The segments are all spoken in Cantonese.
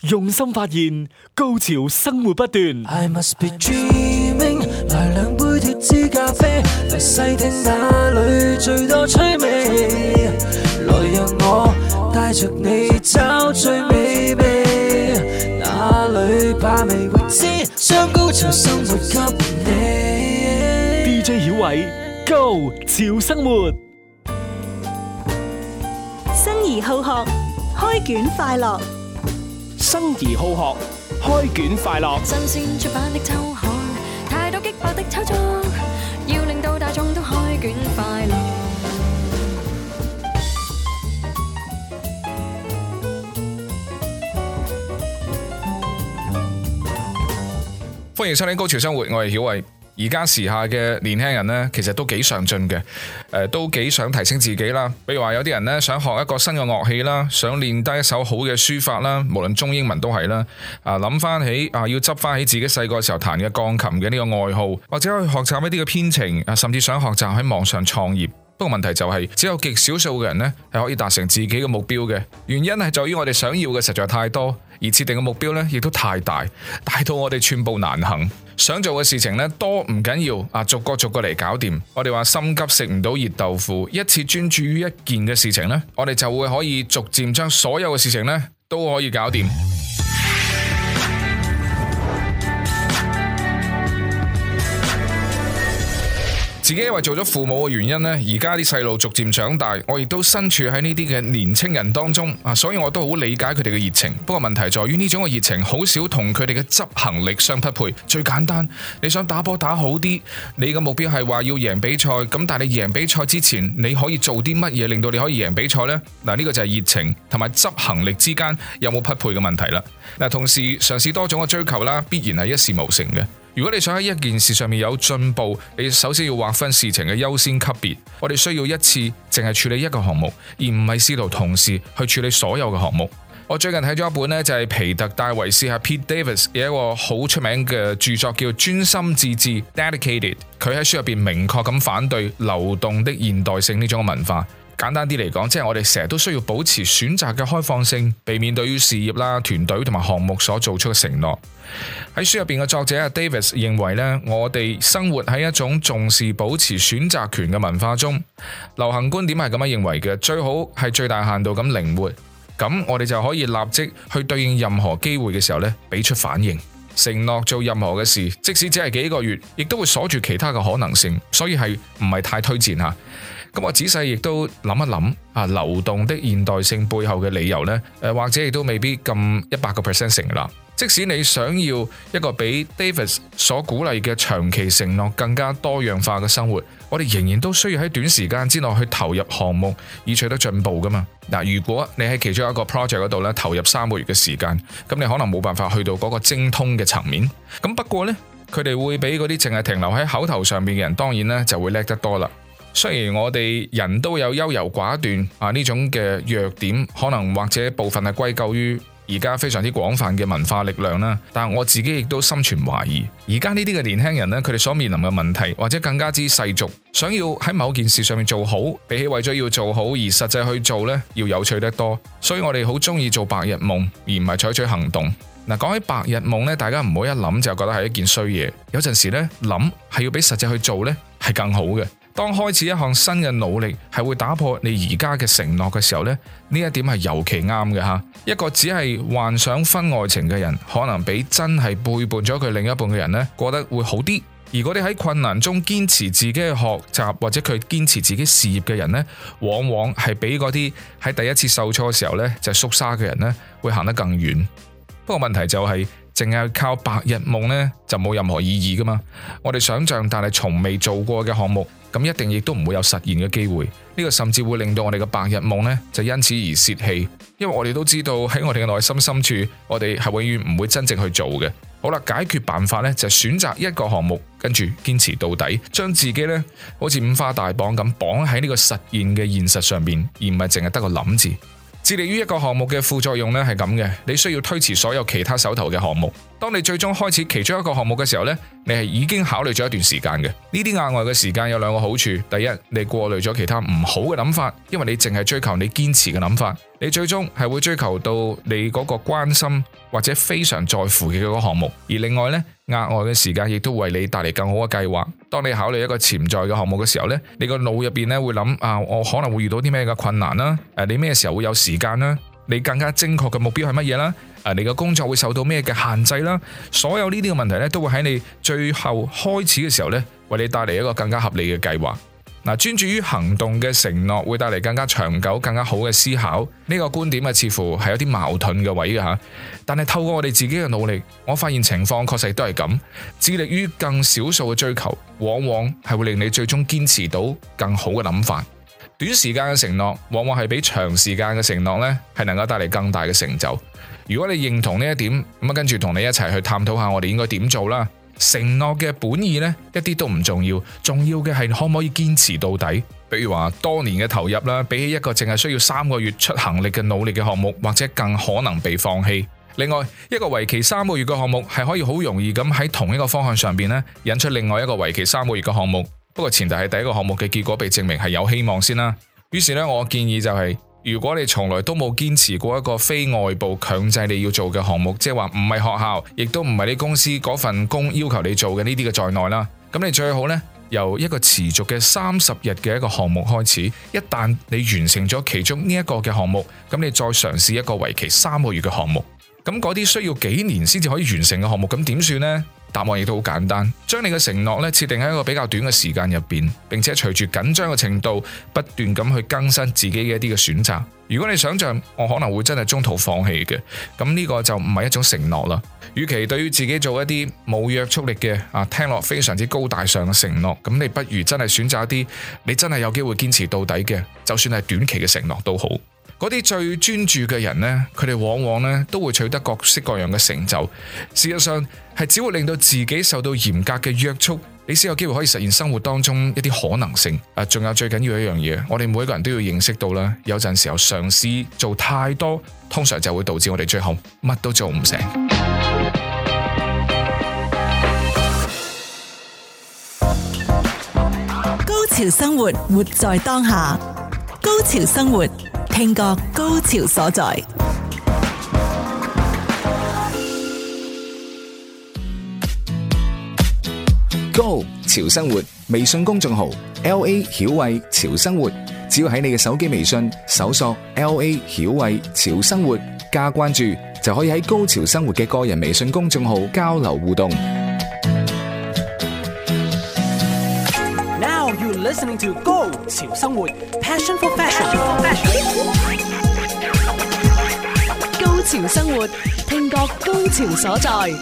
用心發現，高潮生活不斷。 I must be dreaming， 來兩杯脫脂咖啡，來細聽哪裏最多趣味，來讓我帶着你找最美味，哪裏把味未知，將高潮生活給你。 DJ 曉偉，Go 潮生活， 生而好學，開卷快樂。 生而好學，開卷快樂。 新鮮出版的週刊，太多激爆的炒作，要令到大眾都開卷快樂。 歡迎收聽《高潮生活》，我係曉偉。而家時下嘅年輕人呢，其實都幾上進嘅，都幾想提升自己啦。比如話有啲人呢，想學一個新嘅樂器啦，想練低一手好嘅書法啦，無論中英文都係啦。諗翻起要執翻起自己細個時候彈嘅鋼琴嘅呢個愛好，或者去學習一啲嘅編程，甚至想學習喺網上創業。不過問題就係，只有極少數嘅人呢係可以達成自己嘅目標嘅。原因係在於我哋想要嘅實在太多，而設定嘅目標呢亦都太大，大到我哋寸步難行。想做嘅事情呢多唔緊要，逐個嚟搞掂。我哋話心急食唔到熱豆腐，一次專注於一件嘅事情呢，我哋就會可以逐漸將所有嘅事情呢都可以搞掂。自己因為做咗父母嘅原因呢，而家啲細路逐漸長大，我亦都身處喺呢啲嘅年青人當中所以我都好理解佢哋嘅熱情。不過問題在於呢種嘅熱情好少同佢哋嘅執行力相匹配。最簡單，你想打波打好啲，你嘅目標係話要贏比賽，咁但係你贏比賽之前，你可以做啲乜嘢令到你可以贏比賽呢？呢個就係熱情同埋執行力之間有冇匹配嘅問題啦。同時嘗試多種嘅追求啦，必然係一事無成嘅。如果你想喺一件事上面有進步，你首先要劃分事情嘅優先級別。我哋需要一次淨係處理一個項目，而唔係試圖同時去處理所有嘅項目。我最近睇咗一本呢，就係皮特戴維斯 Pete Davis 嘅一個好出名嘅著作，叫專心致志 Dedicated。佢喺書入邊明確咁反對流動的現代性呢種嘅文化。簡單啲嚟講，即係我哋成日都需要保持選擇嘅開放性，避免對於事業啦、團隊同埋項目所做出嘅承諾。喺書入邊嘅作者 Davis 認為呢，我哋生活喺一種重視保持選擇權嘅文化中。流行觀點係咁樣認為嘅，最好係最大限度咁靈活，咁我哋就可以立即去對應任何機會嘅時候呢，俾出反應。承諾做任何嘅事，即使只係幾個月，亦都會鎖住其他嘅可能性，所以係唔係太推薦吓。咁我仔細亦都諗一諗流動的現代性背後嘅理由呢，或者亦都未必咁100% 成立。即使你想要一個比 Davis 所鼓勵嘅長期承諾更加多樣化嘅生活，我哋仍然都需要喺短時間之內去投入項目以取得進步噶嘛。如果你喺其中一個 project 嗰度咧投入3個月嘅時間，咁你可能冇辦法去到嗰個精通嘅層面。咁不過呢，佢哋會比嗰啲淨係停留喺口頭上面嘅人，當然呢就會叻得多啦。雖然我哋人都有優柔寡斷呢種嘅弱點，可能或者部分係歸咎於而家非常之廣泛嘅文化力量啦，但係我自己亦都心存懷疑。而家呢啲嘅年輕人呢，佢哋所面臨嘅問題，或者更加之世俗，想要喺某件事上面做好，比起為咗要做好而實際去做呢，要有趣得多。所以我哋好中意做白日夢，而唔係採取行動。講起白日夢呢，大家唔好一諗就覺得係一件衰嘢。有陣時呢，諗係要比實際去做呢，係更好嘅。當開始一項新嘅努力係會打破你而家嘅承諾嘅時候呢，呢一點係尤其啱嘅吓。一個只係幻想婚外情嘅人，可能比真係背叛咗佢另一半嘅人呢過得會好啲。而嗰啲喺困難中堅持自己嘅學習或者佢堅持自己事業嘅人呢，往往係比嗰啲喺第一次受挫嘅時候呢就縮沙嘅人呢會行得更遠。不過問題就係淨係靠白日夢呢，就冇任何意義噶嘛。我哋想象但係從未做過嘅項目，咁一定亦都唔會有實現嘅機會。呢個甚至會令到我哋嘅白日夢呢，就因此而泄氣。因為我哋都知道喺我哋嘅內心深處，我哋係永遠唔會真正去做嘅。好啦，解決辦法呢，就係選擇一個項目，跟住堅持到底，將自己呢好似五花大綁咁綁喺呢個實現嘅現實上面，而唔係淨係得個諗字。致力於一個項目嘅副作用呢係咁嘅，你需要推遲所有其他手頭嘅項目。 當你最終開始其中一個項目嘅時候呢，你係已經考慮咗一段時間嘅。呢啲額外嘅時間有兩個好處，第一，你過濾咗其他唔好嘅諗法，因為你淨係追求你堅持嘅諗法，你最終係會追求到你嗰個關心或者非常在乎嘅嗰個項目。而另外呢，額外嘅時間亦都為你帶嚟更好嘅計劃。當你考慮一個潛在嘅項目嘅時候呢，你個腦入邊呢會諗我可能會遇到啲咩嘅困難啦，你咩時候會有時間啦，你更加精確嘅目標係乜嘢啦，你嘅工作會受到咩嘅限制啦，所有呢啲嘅問題呢，都會喺你最後開始嘅時候呢，為你帶嚟一個更加合理嘅計劃。專注於行動嘅承諾會帶嚟更加長久、更加好嘅思考。呢個觀點似乎係有啲矛盾嘅位嘅吓，但係透過我哋自己嘅努力，我發現情況確實都係咁。致力於更少數嘅追求，往往係會令你最終堅持到更好嘅諗法。短時間嘅承諾，往往係比長時間嘅承諾呢係能夠帶嚟更大嘅成就。如果你認同呢一點，咁跟住同你一齊去探討下我哋應該點做啦。承諾嘅本意呢，一啲都唔重要，重要嘅係可唔可以堅持到底。比如話多年嘅投入啦，比起一個淨係需要3個月出行力嘅努力嘅項目，或者更可能被放棄。另外，一個為期3個月嘅項目係可以好容易咁喺同一個方向上邊呢引出另外一個為期3個月嘅項目。不過前提係第一個項目嘅結果被證明係有希望先啦。於是呢，我建議就係，如果你從來都冇堅持過一個非外部強制你要做嘅項目，即係話唔係學校，亦都唔係你公司嗰份工要求你做嘅呢啲嘅在內啦，咁你最好呢，由一個持續嘅30日嘅一個項目開始。一旦你完成咗其中呢一個嘅項目，咁你再嘗試一個為期3個月嘅項目。咁嗰啲需要幾年先至可以完成嘅項目，咁點算呢？答案亦都好簡單，將你嘅承諾咧設定喺一個比較短嘅時間入邊，並且隨住緊張嘅程度不斷咁去更新自己嘅一啲嘅選擇。如果你想象我可能會真係中途放棄嘅，咁呢個就唔係一種承諾啦。與其對於自己做一啲冇約束力嘅聽落非常之高大上嘅承諾，咁你不如真係選擇一啲你真係有機會堅持到底嘅，就算係短期嘅承諾都好。嗰啲最專注嘅人呢，佢哋往往呢都會取得各式各樣嘅成就。事實上係只會令到自己受到嚴格嘅約束，你先有機會可以實現生活當中一啲可能性。仲有最緊要一樣嘢，我哋每個人都要認識到啦，有陣時候嘗試做太多，通常就會導致我哋最後乜都做唔成。 高潮生活，活在當下。高潮生活，聽覺高潮所在。 Go 潮生活微信公眾號 LA 曉慧潮生活，只要喺你嘅手機微信搜索 LA 曉慧潮生活加關注，就可以喺高潮生活嘅個人微信公眾號交流互動。 Now you're listening to Go 潮生活 Passion for Fashion。 高潮生活，聽覺高潮所在。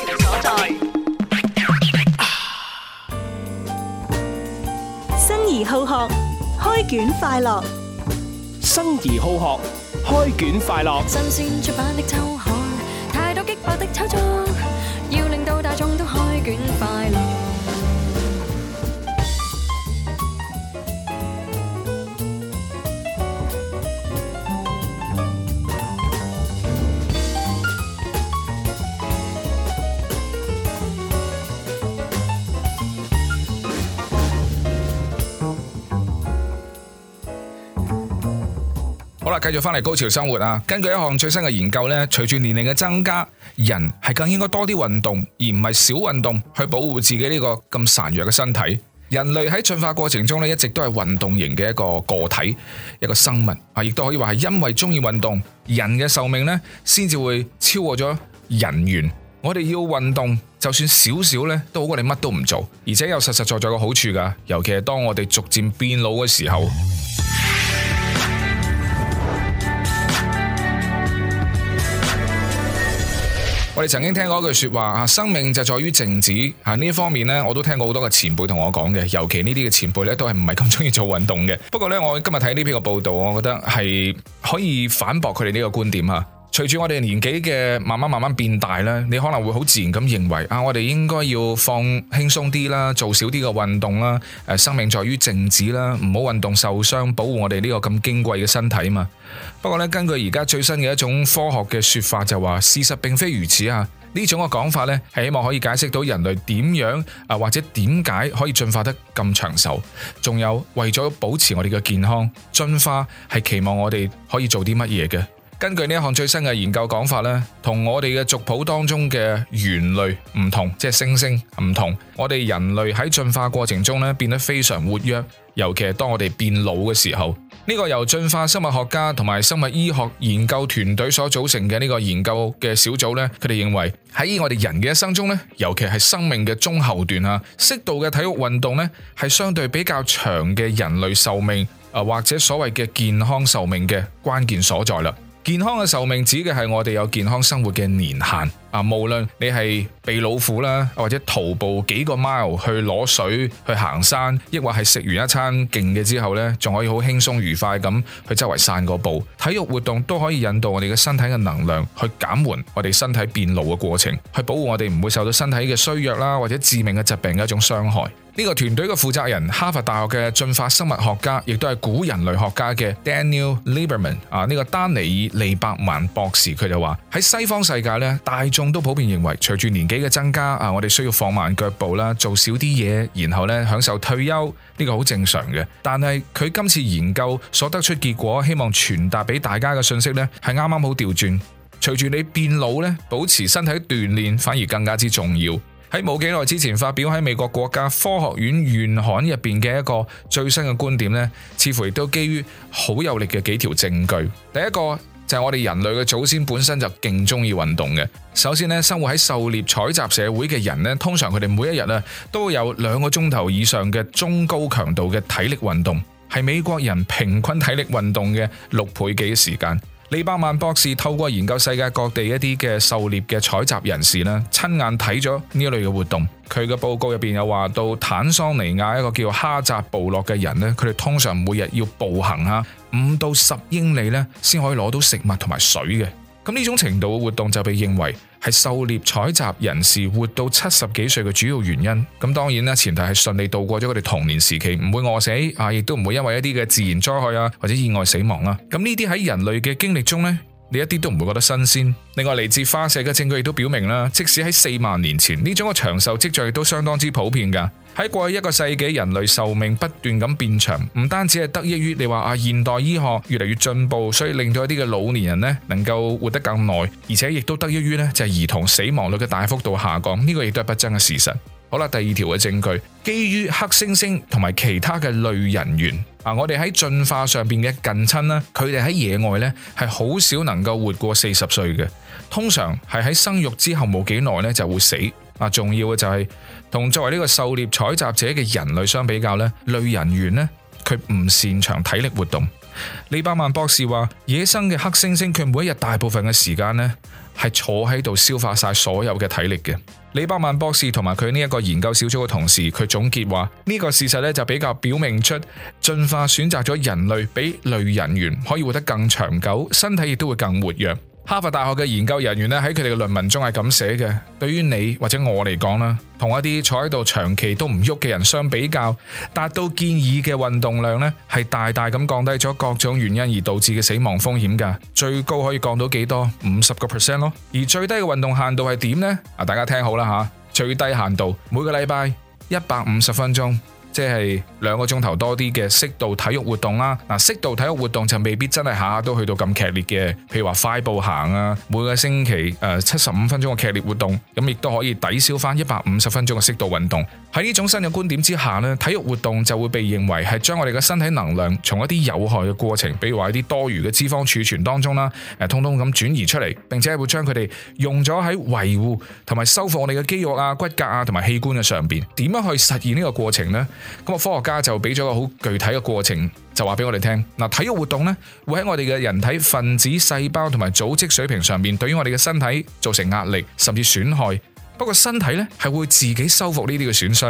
生而好學，開卷快樂。 生而好學，開卷快樂。 新鮮出版的週刊，太多激爆的炒作，要令到大眾都開卷快樂。 好啦，繼續翻嚟高潮生活啊！根據一項最新嘅研究呢，隨住年齡嘅增加，人係更應該多啲運動，而唔係少運動，去保護自己呢個咁孱弱嘅身體。人類喺進化過程中呢，一直都係運動型嘅一個個體，一個生物啊，亦都可以話係因為中意運動，人嘅壽命呢先至會超過咗人猿。我哋要運動，就算少少呢，都好過你乜都唔做，而且有實實在在嘅好處㗎。尤其係當我哋逐漸變老嘅時候。我哋曾經聽過一句說話，生命就在於靜止。呢一方面呢，我都聽過好多嘅前輩同我講嘅，尤其呢啲嘅前輩呢，都係唔係咁中意做運動嘅。不過呢，我今日睇呢篇嘅報道，我覺得係可以反駁佢哋呢個觀點。 隨住我哋年紀嘅慢慢變大咧，你可能會好自然咁認為我哋應該要放輕鬆啲啦，做少啲嘅運動啦。生命在於靜止啦，唔好運動受傷，保護我哋呢個咁矜貴嘅身體嘛。不過咧，根據而家最新嘅一種科學嘅說法就話，事實並非如此啊。呢種嘅講法咧，係希望可以解釋到人類點樣或者點解可以進化得咁長壽，仲有為咗保持我哋嘅健康，進化係期望我哋可以做啲乜嘢嘅。根據呢一項最新嘅研究講法咧，同我哋嘅族譜當中嘅猿類唔同，即係猩猩唔同。我哋人類喺進化過程中咧變得非常活躍，尤其係當我哋變老嘅時候。呢個由進化生物學家同埋生物醫學研究團隊所組成嘅呢個研究嘅小組咧，佢哋認為喺我哋人嘅一生中咧，尤其係生命嘅中後段啊，適度嘅體育運動咧係相對比較長嘅人類壽命或者所謂嘅健康壽命嘅關鍵所在啦。健康嘅壽命指嘅係我哋有健康生活嘅年限啊，無論你係避老虎啦，或者徒步幾個 mile 去攞水、去行山，抑或係食完一餐勁嘅之後呢，仲可以好輕鬆愉快咁去周圍散個步。體育活動都可以引導我哋嘅身體嘅能量，去減緩我哋身體變老嘅過程，去保護我哋唔會受到身體嘅衰弱啦，或者致命嘅疾病嘅一種傷害。呢個團隊嘅負責人，哈佛大學嘅進化生物學家，亦都係古人類學家嘅 Daniel Lieberman 呢個丹尼爾利伯曼博士，佢就話喺西方世界咧，大眾都普遍認為，隨住年紀嘅增加我哋需要放慢腳步啦，做少啲嘢，然後咧享受退休，呢個好正常嘅。但係佢今次研究所得出結果，希望傳達俾大家嘅信息咧，係啱啱好調轉。隨住你變老咧，保持身體鍛煉反而更加之重要。喺冇幾耐之前發表喺美國國家科學院院刊入邊嘅一個最新嘅觀點呢，似乎亦都基於好有力嘅幾條證據。第一個就係我哋人類嘅祖先本身就勁中意運動嘅。首先呢，生活喺狩獵採集社會嘅人呢，通常佢哋每一日都會有2個鐘頭以上嘅中高強度嘅體力運動，係美國人平均體力運動嘅6倍幾嘅時間。利伯曼博士透過研究世界各地一啲嘅狩獵嘅採集人士啦，親眼睇咗呢一類嘅活動。佢嘅報告入邊有話到，坦桑尼亞一個叫哈扎部落嘅人呢，佢哋通常每日要步行5到10英里呢，先可以攞到食物同埋水嘅。咁呢種程度嘅活動就被認為係狩獵採集人士活到70幾歲嘅主要原因。咁當然啦，前提係順利度過咗佢哋童年時期，唔會餓死亦都唔會因為一啲嘅自然災害或者意外死亡啦。咁呢啲喺人類嘅經歷中呢，你一啲都唔會覺得新鮮。另外嚟自化石嘅證據亦都表明啦，即使喺4萬年前，呢種嘅長壽跡象亦都相當之普遍噶。喺過去1個世紀，人類壽命不斷咁變長，唔單止係得益於你話現代醫學越嚟越進步，所以令到一啲嘅老年人呢能夠活得更耐，而且亦都得益於呢就係兒童死亡率嘅大幅度下降，呢個亦都係不爭嘅事實。好啦，第2條嘅證據，基於黑猩猩同埋其他嘅類人猿我哋喺進化上邊嘅近親啦，佢哋喺野外呢係好少能夠活過40歲嘅，通常係喺生育之後冇幾耐呢就會死。重要嘅就係同作為呢個狩獵採集者嘅人類相比較呢，類人猿呢，佢唔擅長體力活動。利伯曼博士話，野生嘅黑猩猩佢每一日大部分嘅時間呢係坐喺度消化晒所有嘅體力嘅。利伯曼博士同埋佢呢一個研究小組嘅同事，佢總結話呢個事實呢就比較表明出進化選擇咗人類比類人猿可以活得更長久，身體亦都會更活躍。哈佛大學嘅研究人員咧喺佢哋嘅論文中係咁寫嘅，對於你或者我嚟講啦，同一啲坐喺度長期都唔喐嘅人相比較，達到建議嘅運動量咧係大大咁降低咗各種原因而導致嘅死亡風險㗎，最高可以降到幾多？50% 咯。而最低嘅運動限度係點呢？大家聽好啦吓，最低限度每個禮拜150分鐘。即係2個鐘頭多啲嘅適度體育活動啦。適度體育活動就未必真係下下都去到咁劇烈嘅，譬如話快步行每個星期75分鐘嘅劇烈活動，咁亦都可以抵消翻150分鐘嘅適度運動。喺呢種新嘅觀點之下呢，體育活動就會被認為係將我哋嘅身體能量從一啲有害嘅過程，比如話一啲多餘嘅脂肪儲存當中啦，通通咁轉移出嚟，並且係會將佢哋用咗喺維護同埋修復我哋嘅肌肉骨骼同埋器官嘅上邊。點樣去實現呢個過程呢？咁科學家就俾咗個好具體嘅過程，就話俾我哋聽。體育活動呢，會喺我哋嘅人體分子、細胞同埋組織水平上面，對於我哋嘅身體造成壓力甚至損害。不過身體呢係會自己修復呢啲嘅損傷。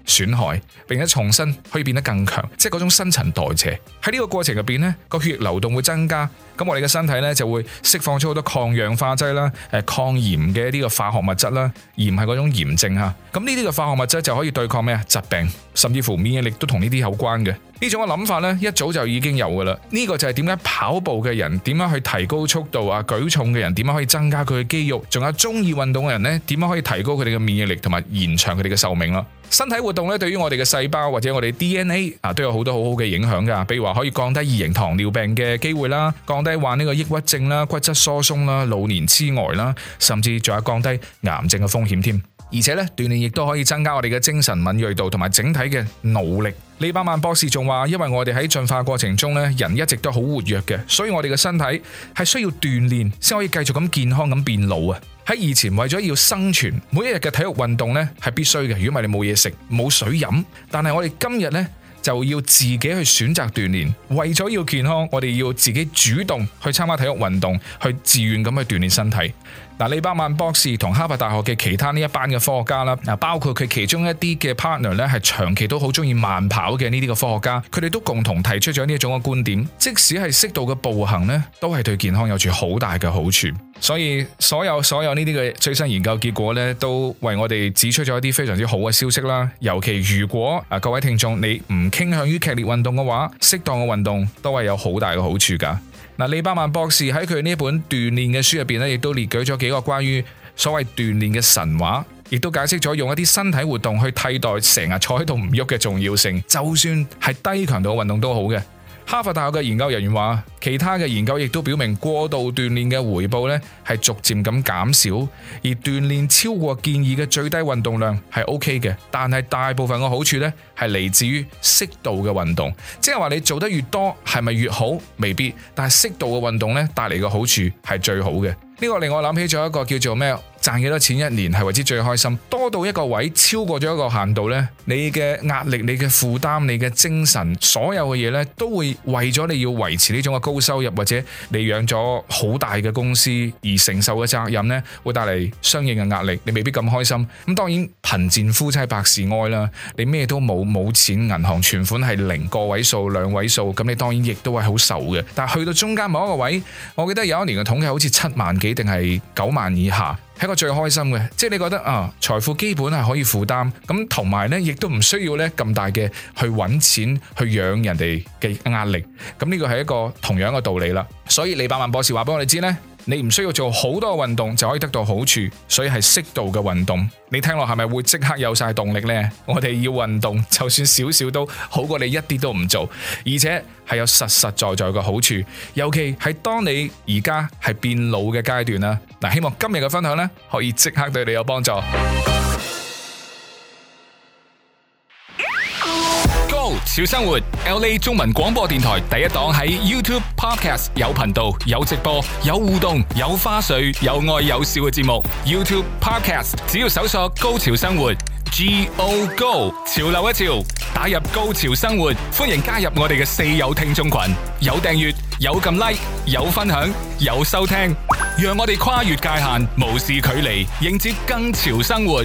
損害，並且重新可以變得更強，即係嗰種新陳代謝。喺呢個過程入邊呢，個血液流動會增加，咁我哋嘅身體呢就會釋放出好多抗氧化劑啦、抗炎嘅一啲嘅化學物質啦，鹽係嗰種炎症嚇。咁呢啲嘅化學物質就可以對抗咩啊？疾病，甚至乎免疫力都同呢啲有關嘅。呢種嘅諗法呢，一早就已經有㗎啦。呢個就係點解跑步嘅人點樣去提高速度啊，舉重嘅人點樣可以增加佢嘅肌肉，仲有中意運動嘅人呢，點樣可以提高佢哋嘅免疫力同埋延長佢哋嘅壽命啦。身體活動咧，對於我哋嘅細胞或者我哋 DNA 都有好多好好嘅影響㗎。比如話可以降低二型糖尿病嘅機會啦，降低患呢個抑鬱症啦、骨質疏鬆啦、老年痴呆啦，甚至仲有降低癌症嘅風險添。而且咧，鍛煉亦都可以增加我哋嘅精神敏銳度同埋整體嘅腦力。利巴曼博士仲話，因為我哋喺進化過程中咧，人一直都好活躍嘅，所以我哋嘅身體係需要鍛煉先可以繼續咁健康咁變老啊！喺以前為咗要生存，每一日嘅體育運動咧係必須嘅，如果唔係你冇嘢食、冇水飲。但係我哋今日咧就要自己去選擇鍛煉，為咗要健康，我哋要自己主動去參加體育運動，去自願咁去鍛煉身體。嗱，利巴曼博士同哈佛大學嘅其他呢一班嘅科學家啦，包括佢其中一啲嘅 partner 咧，係長期都好中意慢跑嘅呢啲嘅科學家，佢哋都共同提出咗呢一種嘅觀點，即使係適度嘅步行呢，都係對健康有住好大嘅好處。所以所有呢啲嘅最新研究結果呢，都為我哋指出咗一啲非常之好嘅消息啦。尤其如果各位聽眾你唔傾向於劇烈運動嘅話，適當嘅運動都係有好大嘅好處噶。利巴曼博士喺佢呢一本鍛煉嘅書入邊咧，亦都列舉咗幾個關於所謂鍛煉嘅神話，亦都解釋咗用一啲身體活動去替代成日坐喺度唔喐嘅重要性，就算係低強度嘅運動都好嘅。哈佛大學嘅研究人員話，其他嘅研究亦都表明過度鍛煉嘅回報咧係逐漸咁減少，而鍛煉超過建議嘅最低運動量係 OK 嘅，但係大部分嘅好處咧係嚟自於適度嘅運動，即係話你做得越多係咪越好？未必，但係適度嘅運動咧帶嚟嘅好處係最好嘅。呢個令我諗起咗一個叫做咩？賺幾多錢一年係為之最開心？多到一個位，超過咗一個限度呢，你嘅壓力、你嘅負擔、你嘅精神，所有嘅嘢呢，都會為咗你要維持呢種嘅高收入，或者你養咗好大嘅公司而承受嘅責任呢，會帶嚟相應嘅壓力，你未必咁開心。咁當然貧賤夫妻百事哀啦，你咩都冇錢，銀行存款係0個位數、2位數，咁你當然亦都係好愁嘅。但係去到中間某一個位，我記得有一年嘅統計好似7萬幾定係9萬以下。係一個最開心嘅，即係你覺得財富基本係可以負擔，咁同埋呢亦都唔需要呢咁大嘅去揾錢去養人哋嘅壓力，咁呢個係一個同樣嘅道理啦。所以利巴曼博士話俾我哋知呢，你唔需要做好多運動就可以得到好處，所以係適度嘅運動。你聽落係咪會即刻有晒動力呢？我哋要運動，就算少少都好過你一啲都唔做，而且係有實實在在嘅好處。尤其係當你而家係變老嘅階段啦。嗱，希望今日嘅分享呢，可以即刻對你有幫助。 Go 潮生活 LA 中文廣播電台第一檔喺 YouTube Podcast 有頻道、有直播、有互動、有花絮、有愛有笑嘅節目。YouTube Podcast 只要搜索高潮生活 Go Go 潮流一潮，打入高潮生活，歡迎加入我哋嘅四友聽眾群，有訂閱、有撳 like、有分享、有收聽，讓我哋跨越界限，無視距離，迎接更潮生活。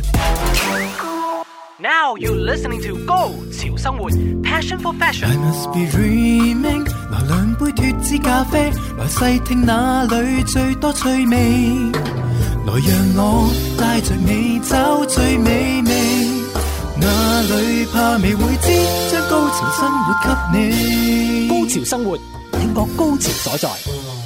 Now you're listening to Go 潮生活 Passion for Fashion。 I must be dreaming。 來兩杯脫脂咖啡，來細聽哪裏最多趣味，來讓我帶着你找最美味，哪裏怕未會知，將高潮生活給你。 高潮生活，聽覺高潮所在。